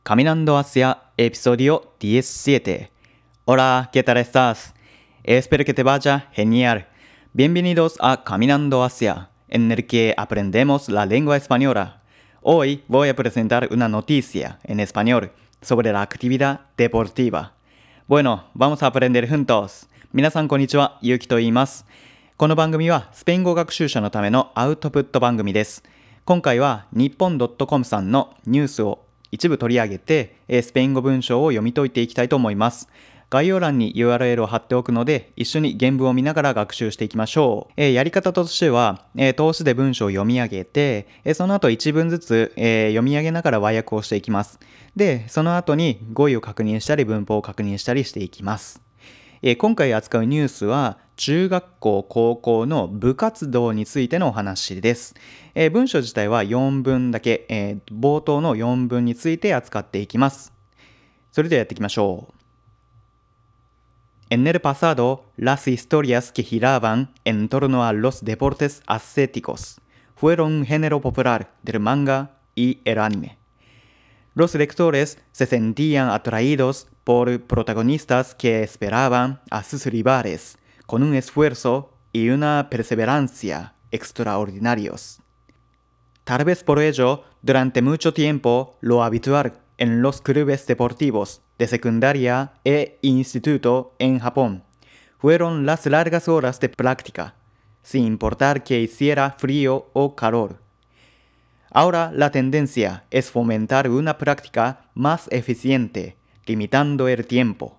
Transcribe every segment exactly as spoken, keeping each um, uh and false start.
Caminando hacia episodio diecisiete. Hola, ¿qué tal estás? Espero que te vaya genial. Bienvenidos a Caminando hacia, en el que aprendemos la lengua española. Hoy voy a presentar una noticia en español sobre la actividad deportiva. Bueno, vamos a aprender juntos. 皆さんこんにちは、ゆうきと言います。この番組はスペイン語学習者のためのアウトプット番組です。今回は日本 .com さんのニュースを一部取り上げて、スペイン語文章を読み解いていきたいと思います。概要欄に ユーアールエル を貼っておくので、一緒に原文を見ながら学習していきましょう。えー、やり方としては、えー、通しで文章を読み上げて、えー、その後一文ずつ、えー、読み上げながら和訳をしていきます。で、その後に語彙を確認したり文法を確認したりしていきます。えー、今回扱うニュースは中学校高校の部活動についてのお話です。えー、文章自体はよんぶんだけ、えー、冒頭のよんぶんについて扱っていきます。それではやっていきましょう。En el pasado, las historias que giraban en torno a los deportes ascéticos fueron un género popular del manga y el anime. Los lectores se sentían atraídos por protagonistas que esperaban a sus rivales con un esfuerzo y una perseverancia extraordinarios. Tal vez por ello, durante mucho tiempo, lo habitual en los clubes deportivos de secundaria e instituto en Japón fueron las largas horas de práctica, sin importar que hiciera frío o calor. Ahora la tendencia es fomentar una práctica más eficiente, limitando el tiempo.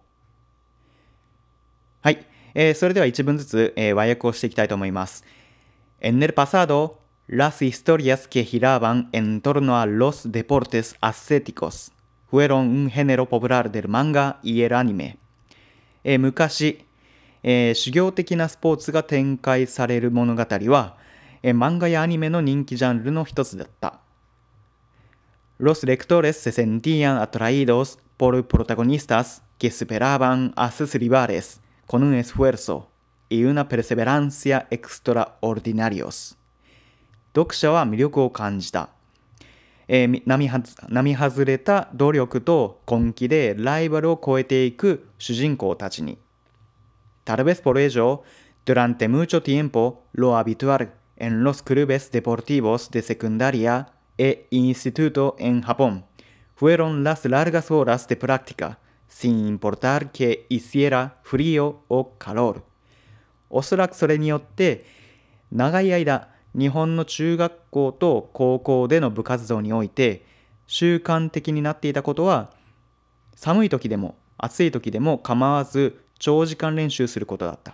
はい、えー、それでは一文ずつ、えー、和訳をしていきたいと思います。En el pasado, las historias que giraban en torno a los deportes ascéticos fueron un género popular del manga y el anime. えー、昔、えー、修行的なスポーツが展開される物語は、えー、漫画やアニメの人気ジャンルの一つだった。Los lectores se sentían atraídos por protagonistas que superaban a sus rivales con un esfuerzo y una perseverancia extraordinarios. 読者は魅力を感じた。えー、並は並外れた努力と根気でライバルを超えていく主人公たちに。Tal vez por ello, durante mucho tiempo, lo habitual en los clubes deportivos de secundaria e instituto en Japón fueron las largas horas de práctica, sin importar que hiciera frío o calor. おそらくそれによって、長い間、日本の中学校と高校での部活動において習慣的になっていたことは、寒い時でも暑い時でも構わず長時間練習することだった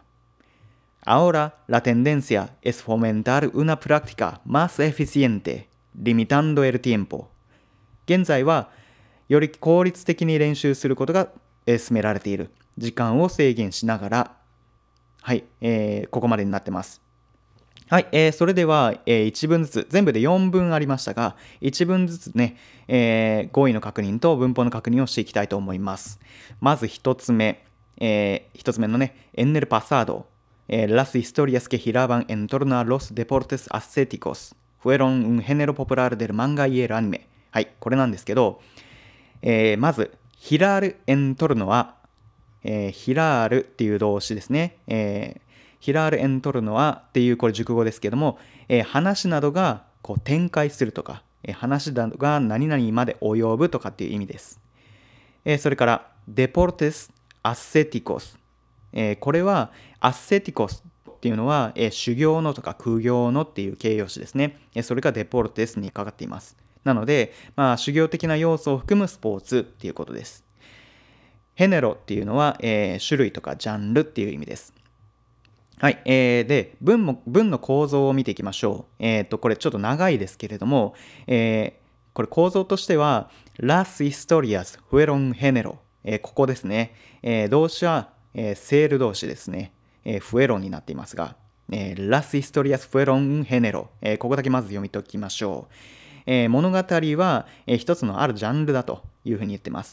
。Ahora la tendencia es fomentar una práctica más eficiente, limitando el tiempo. 現在はより効率的に練習することが進められている。時間を制限しながら、はい、えー、ここまでになってます。はい、えー、それでは、えー、いちぶんずつ、全部でよんぶんありましたが、いちぶんずつね、えー、語彙の確認と文法の確認をしていきたいと思います。まずひとつめ、えー、ひとつめのね、En el pasado, eh, las historias que giraban en torno a los deportes ascéticos fueron un género popular del manga y el anime. はい、これなんですけど、えー、まず、girar en torno a、えー、girar っていう動詞ですね。えーヒラールエントルノアっていうこれ熟語ですけども、えー、話などがこう展開するとか、えー、話などが何々まで及ぶとかっていう意味です。えー、それからデポルテスアセティコス、えー、これはアセティコスっていうのは、えー、修行のとか苦行のっていう形容詞ですね。えー、それがデポルテスにかかっています。なので、まあ、修行的な要素を含むスポーツっていうことです。ヘネロっていうのは、えー、種類とかジャンルっていう意味です。はい、えー、で 文, も文の構造を見ていきましょう。えー、とこれちょっと長いですけれども、えー、これ構造としては Las historias fueron género、えー、ここですね、えー、動詞は、えー、セール動詞ですね、えー、fueron になっていますが、えー、Las historias fueron género、えー、ここだけまず読み解きましょう。えー、物語は、えー、一つのあるジャンルだというふうに言ってます。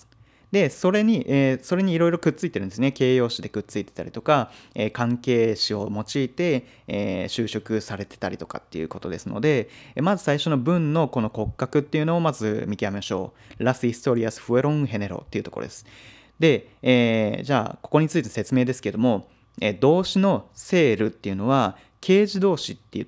で、それに、えーそれにいろいろくっついてるんですね。形容詞でくっついてたりとか、えー関係詞を用いて、えー修飾されてたりとかっていうことですので、えーまず最初の文のこの骨格っていうのをまず見極めましょう。Las historias fueron género っていうところです。で、えーじゃあ、ここについて説明ですけども、えー動詞のセールっていうのは、形詞動詞って言って、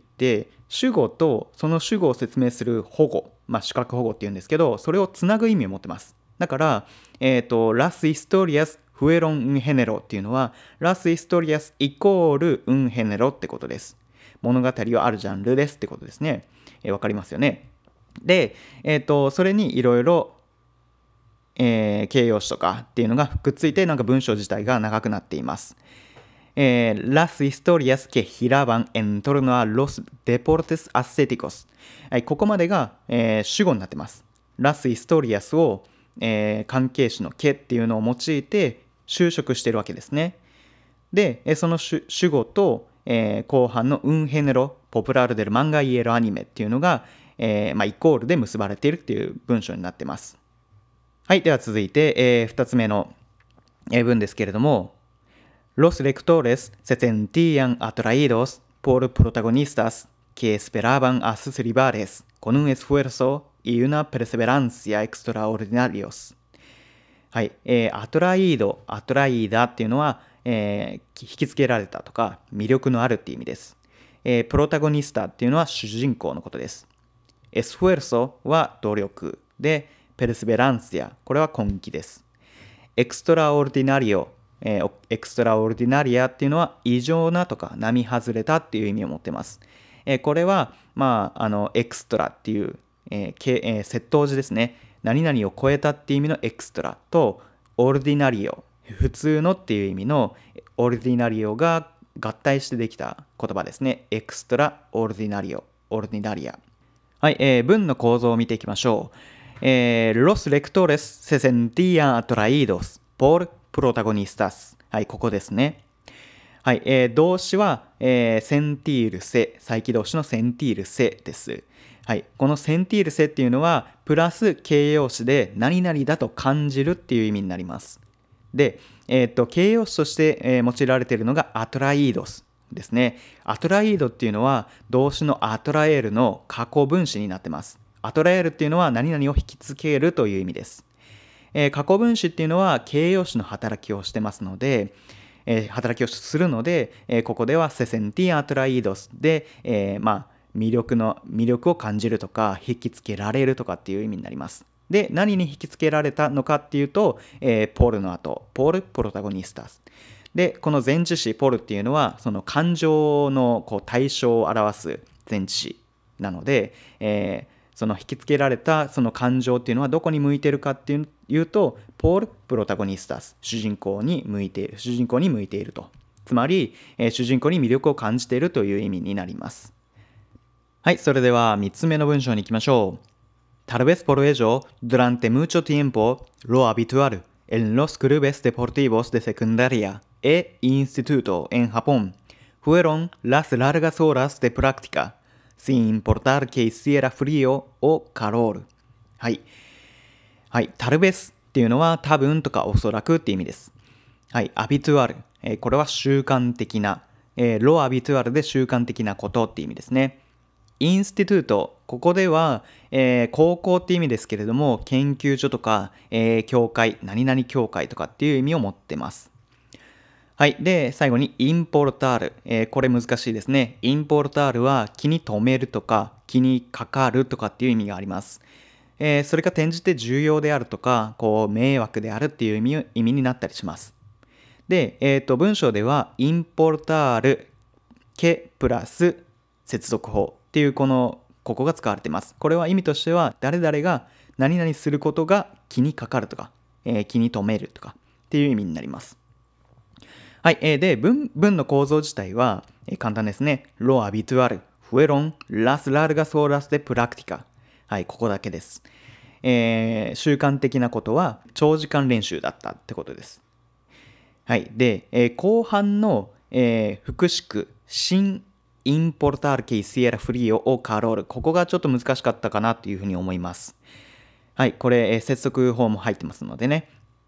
主語とその主語を説明する保護、まあ、主格保護っていうんですけど、それをつなぐ意味を持ってます。だから、えっ、と、las historias fueron un género っていうのは、las historias イコール un género ってことです。物語はあるジャンルですってことですね。えーわかりますよね。で、えっ、と、それにいろいろえー形容詞とかっていうのがくっついて、なんか文章自体が長くなっています。えー Las historias que giraban en torno a los deportes ascéticos。はい、ここまでが、えー主語になってます。Las historias を、えー関係詞のけっていうのを用いて修飾しているわけですね。で、えーその主主語と、えー後半の un género popular del manga y el anime っていうのが、えーまあ、イコールで結ばれているっていう文章になっています。はい。では続いて、えー、ふたつめのえー文ですけれども、Los lectores se sentían atraídos por protagonistas que esperaban a sus rivales con un esfuerzo y una perseverancia extraordinarios。はい。えー、アトライード、アトライーダっていうのは、えー引きつけられたとか、魅力のあるっていう意味です。えープロタゴニスタっていうのは主人公のことです。エスフェルソは努力で、ペルスベランシア、これは根気です。エクストラオルディナリオ、えーエクストラオルディナリアっていうのは異常なとか並外れたっていう意味を持ってます。えーこれは、まあ、あの、エクストラっていう、えーけえー窃盗時ですね。何々を超えたっていう意味のエクストラと、オルディナリオ、普通のっていう意味のオルディナリオが合体してできた言葉ですね。エクストラオルディナリオ、オルディナリア。はい、えー文の構造を見ていきましょう。えー Los lectores se sentían atraídos por protagonistas。はい、ここですね。はい、えー動詞は、えーセンティールセ、再起動詞のセンティールセです。はい、このセンティールセっていうのは、プラス形容詞で何々だと感じるっていう意味になります。で、えーと形容詞として、えー用いられているのがアトライードスですね。アトライードっていうのは動詞のアトラエールの過去分詞になってます。アトラエールっていうのは何々を引きつけるという意味です。えー過去分詞っていうのは形容詞の働きをしてますので、えー働きをするので、えーここではセセンティアトライードスで、えーまあ魅力の魅力を感じるとか引きつけられるとかっていう意味になります。で、何に引きつけられたのかっていうと、えーポールの後、ポールプロタゴニスタス。で、この前置詞ポールっていうのはその感情のこう対象を表す前置詞なので、えーその引きつけられたその感情っていうのはどこに向いているかっていうと、ポールプロタゴニスタス、主人公に向いている、主人公に向いていると。つまり、えー主人公に魅力を感じているという意味になります。はい、それではみっつめの文章に行きましょう。Tal vez por ello, durante mucho tiempo, lo habitual en los clubes deportivos de secundaria e instituto en Japón fueron las largas horas de práctica, sin importar que hiciera frío o calor。はい。はい。タルベスっていうのは多分とかおそらくって意味です。はい。アビトゥアル。えーこれは習慣的な。えーロアビトゥアルで習慣的なことって意味ですね。インスティトゥート。ここでは、えー高校って意味ですけれども、研究所とか、えー教会、何々教会とかっていう意味を持ってます。はい。で、最後にインポルタール。えーこれ難しいですね。インポルタールは気に留めるとか、気にかかるとかっていう意味があります。えーそれが転じて重要であるとか、こう、迷惑であるっていう意味意味になったりします。で、えっと、文章では、インポルタール、けプラス接続法っていうこの、ここが使われています。これは意味としては、誰々が何々することが気にかかるとか、えー気に留めるとかっていう意味になります。はい。えーで、文、文の構造自体は、えー簡単ですね。lo habitual fueron las largas horas de práctica。はい、ここだけです。えー習慣的なことは長時間練習だったってことです。はい。で、えー後半の、えー副詞句、sin importar que hiciera frío o calor。ここがちょっと難しかったかなというふうに思います。はい。これ、えー接続法も入ってますのでね。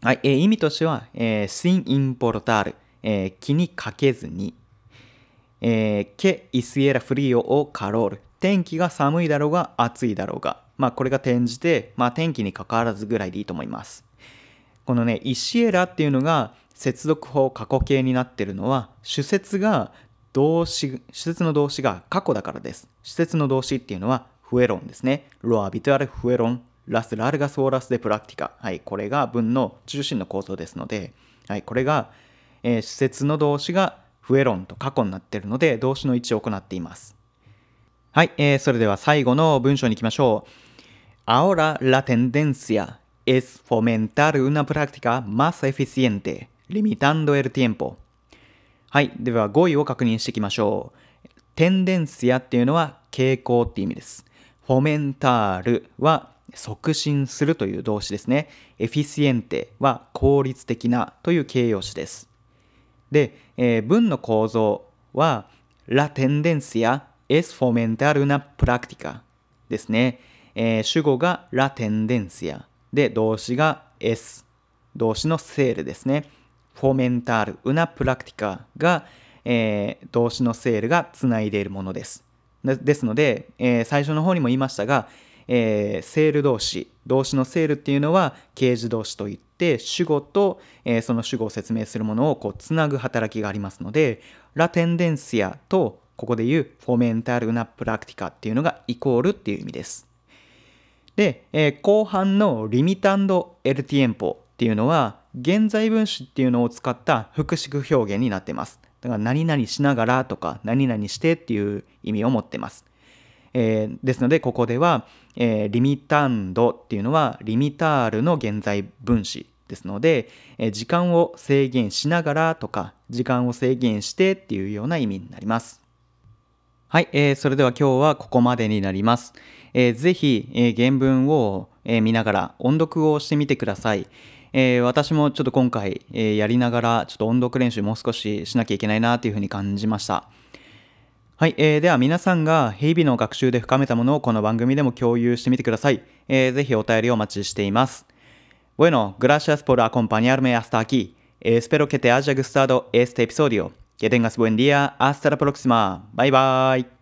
はい、えー意味としては、えー、sin importar、えー気にかけずに、えー、que hiciera frío o calor、天気が寒いだろうが暑いだろうが、まあこれが転じて、まあ天気に関わらずぐらいでいいと思います。このね、イシエラっていうのが接続法過去形になっているのは、主節が動詞、主節の動詞が過去だからです。主節の動詞っていうのはフエロンですね。ロアビトアルフエロン、ラスラルガソーラスでプラクティカ。はい、これが文の中心の構造ですので、はい、これが、えー主節の動詞がフエロンと過去になっているので、動詞の位置を行っています。はい、えーそれでは最後の文章に行きましょう。Ahora la tendencia es fomentar una práctica más eficiente, limitando el tiempo. はい。では語彙を確認していきましょう。テンデンシアっていうのは傾向っていう意味です。フォメンタールは促進するという動詞ですね。エフィシエンテは効率的なという形容詞です。で、えー文の構造は La tendencia es fomentar una práctica ですね。えー主語が La tendencia で動詞が es 動詞のセールですね。fomentar una práctica が、えー動詞のセールがつないでいるものです。でですので、えー最初の方にも言いましたが、えーセール動詞、動詞のセールっていうのは形詞動詞といって、主語と、えーその主語を説明するものをこうつなぐ働きがありますので、ラテンデンシアとここで言うフォメンタルなプラクティカっていうのがイコールっていう意味です。で、えー後半のリミタンドエルティエンポっていうのは現在分詞っていうのを使った複式表現になっています。だから何々しながらとか何々してっていう意味を持っています。えーですのでここでは、えーリミタンドっていうのはリミタールの現在分詞ですので、えー時間を制限しながらとか時間を制限してっていうような意味になります。はい、えーそれでは今日はここまでになります。えーぜひ、えー原文を、えー見ながら音読をしてみてください。えー私もちょっと今回、えーやりながらちょっと音読練習もう少ししなきゃいけないなというふうに感じました。はい、えーでは皆さんが日々の学習で深めたものをこの番組でも共有してみてください。えーぜひお便りをお待ちしています。Bueno, gracias por acompañarme hasta aquí. Espero que te haya gustado este episodio. Que tengas buen día. Hasta la próxima. Bye bye.